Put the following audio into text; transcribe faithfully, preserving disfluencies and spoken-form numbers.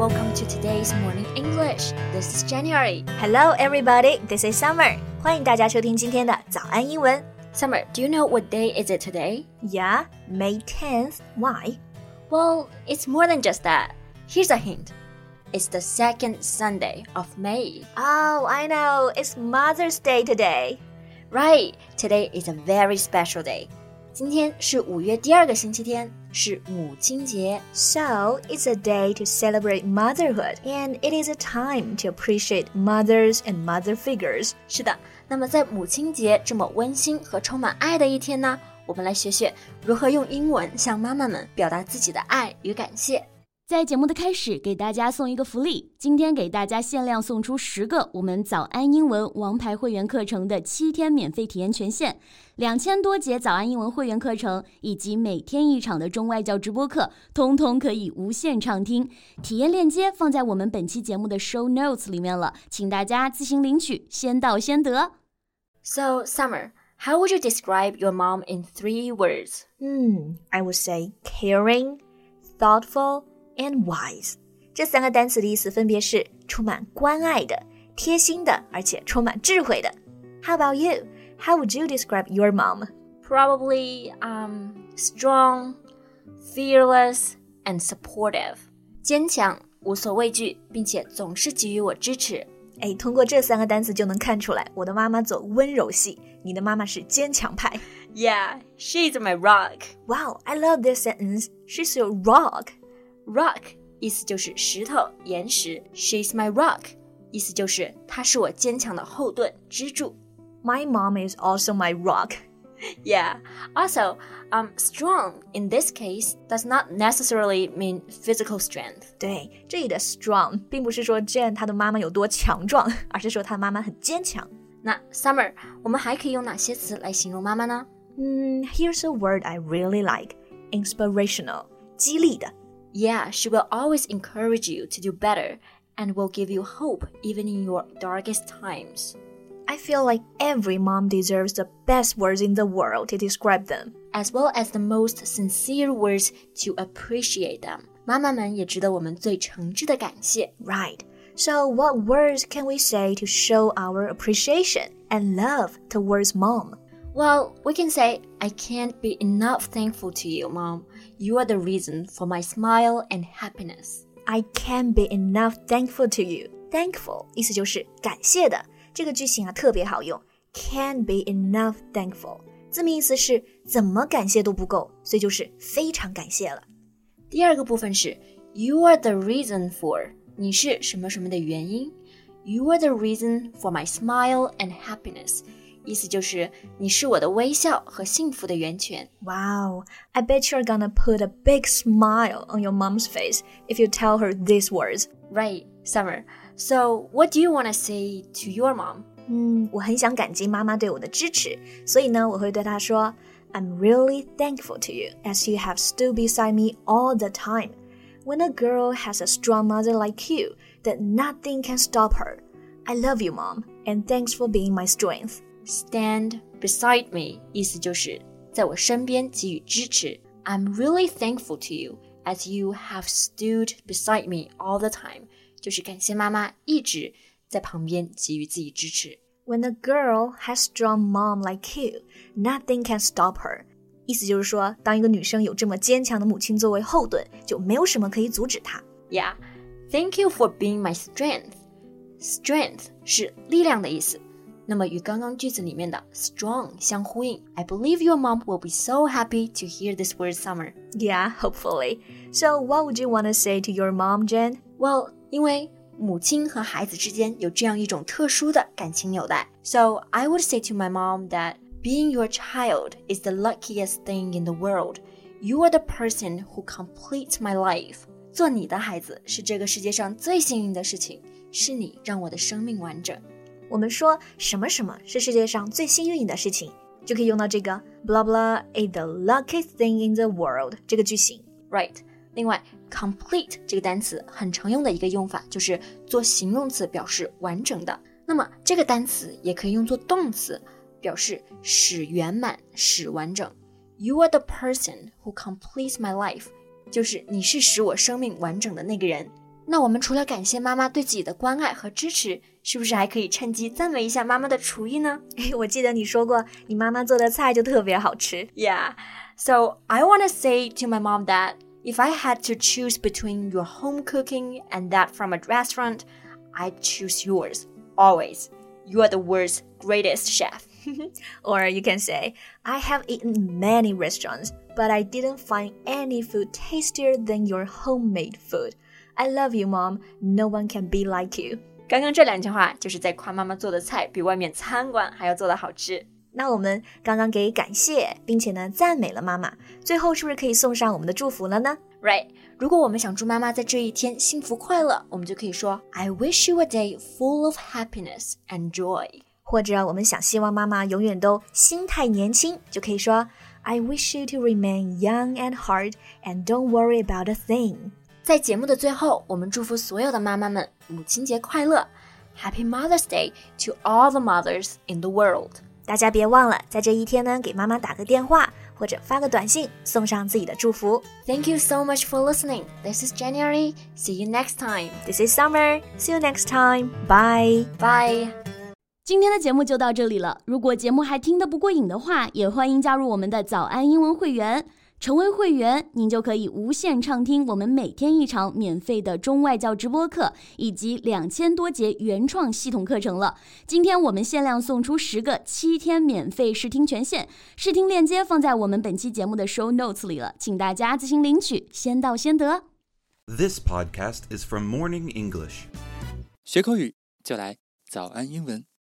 welcome to today's Morning English. This is January. Hello everybody, this is Summer. 欢迎大家收听今天的早安英文。 Summer, do you know what day is it today? Yeah, May tenth. Why? Well, it's more than just that. Here's a hint. It's the second Sunday of May. Oh, I know. It's Mother's Day today. Right. Today is a very special day. 今天是五月第二个星期天，是母亲节。 So, it's a day to celebrate motherhood, and it is a time to appreciate mothers and mother figures. 是的，那么在母亲节这么温馨和充满爱的一天呢，我们来学学如何用英文向妈妈们表达自己的爱与感谢。 在节目的开始，给大家送一个福利，今天给大家限量送出十个我们早安英文王牌会员课程的七天免费体验权限，两千多节早安英文会员课程以及每天一场的中外教直播课，通通可以无限畅听。体验链接放在我们本期节目的 show notes 里面了，请大家自行领取，先到先得。 So, Summer, how would you describe your mom in three words? Hmm, I would say caring, thoughtful,and wise. 这三个单词的意思分别是充满关爱的、贴心的，而且充满智慧的。How about you? How would you describe your mom? Probably um, strong, fearless, and supportive. 坚强，无所畏惧，并且总是给予我支持。 哎，通过这三个单词就能看出来，我的妈妈走温柔系，你的妈妈是坚强派。 Yeah, she's my rock. Wow, I love this sentence. She's your rock.Rock 意思就是石头、岩石 She's my rock 意思就是她是我坚强的后盾、支柱。 My mom is also my rock. Yeah, also, um, strong in this case does not necessarily mean physical strength. 对，这里的 strong 并不是说 Jen 她的妈妈有多强壮，而是说她妈妈很坚强。 那 Summer, 我们还可以用哪些词来形容妈妈呢？ 嗯 Here's a word I really like. Inspirational. 激励的。 Yeah, she will always encourage you to do better and will give you hope even in your darkest times. I feel like every mom deserves the best words in the world to describe them. As well as the most sincere words to appreciate them. 妈妈们也值得我们最诚挚的感谢。 Right. So what words can we say to show our appreciation and love towards mom? Well, we can say, I can't be enough thankful to you, Mom. You are the reason for my smile and happiness. I can't be enough thankful to you. Thankful 意思就是感谢的。这个句型啊特别好用。Can't be enough thankful 字面意思是怎么感谢都不够，所以就是非常感谢了。 第二个部分是 You are the reason for 你是什么什么的原因。You are the reason for my smile and happiness.意思就是你是我的微笑和幸福的源泉。 Wow, I bet you're gonna put a big smile on your mom's face if you tell her these words. Right, Summer. So, what do you want to say to your mom? 嗯，我很想感激妈妈对我的支持，所以呢，我会对她说 I'm really thankful to you as you have stood beside me all the time. When a girl has a strong mother like you, then nothing can stop her. I love you, Mom, and thanks for being my strength.Stand beside me 意思就是在我身边给予支持。 I'm really thankful to you as you have stood beside me all the time 就是感谢妈妈一直在旁边给予自己支持。 When a girl has strong mom like you, nothing can stop her 意思就是说当一个女生有这么坚强的母亲作为后盾，就没有什么可以阻止她。 Yeah, thank you for being my strength. Strength 是力量的意思，那么与刚刚句子里面的 strong 相呼应。 I believe your mom will be so happy to hear this word, Summer. Yeah, hopefully. So what would you want to say to your mom, Jen? Well, 因为母亲和孩子之间有这样一种特殊的感情纽带。 So I would say to my mom that being your child is the luckiest thing in the world. You are the person who completes my life. 做你的孩子是这个世界上最幸运的事情，是你让我的生命完整。 我们说什么什么是世界上最幸运的事情，就可以用到这个 blah blah is the luckiest thing in the world 这个句型。 Right. 另外 complete 这个单词很常用的一个用法就是做形容词表示完整的，那么这个单词也可以用作动词表示使圆满使完整。 You are the person who completes my life 就是你是使我生命完整的那个人。 那我们除了感谢妈妈对自己的关爱和支持，是不是还可以趁机赞美一下妈妈的厨艺呢？ 我记得你说过，你妈妈做的菜就特别好吃。 Yeah, so I want to say to my mom that if I had to choose between your home cooking and that from a restaurant, I'd choose yours, always. You are the world's greatest chef. Or you can say, I have eaten many restaurants, but I didn't find any food tastier than your homemade food.I love you, Mom. No one can be like you. 刚刚这两句话就是在夸妈妈做的菜比外面餐馆还要做得好吃。 那我们刚刚给感谢，并且呢赞美了妈妈，最后是不是可以送上我们的祝福了呢？ Right. 如果我们想祝妈妈在这一天幸福快乐，我们就可以说 I wish you a day full of happiness and joy. 或者我们想希望妈妈永远都心态年轻，就可以说 I wish you to remain young at heart and don't worry about a thing. 在节目的最后，我们祝福所有的妈妈们母亲节快乐 Happy Mother's Day to all the mothers in the world. 大家别忘了在这一天呢给妈妈打个电话或者发个短信送上自己的祝福。 Thank you so much for listening. This is January. See you next time. This is Summer. See you next time. Bye. Bye. 今天的节目就到这里了，如果节目还听得不过瘾的话，也欢迎加入我们的早安英文会员。成为会员，您就可以无限畅听我们每天一场免费的中外教直播课，以及两千多节原创系统课程了。今天我们限量送出十个七天免费试听权限，试听链接放在我们本期节目的 show notes 里了，请大家自行领取，先到先得。 This podcast is from Morning English. 学口语就来早安英文。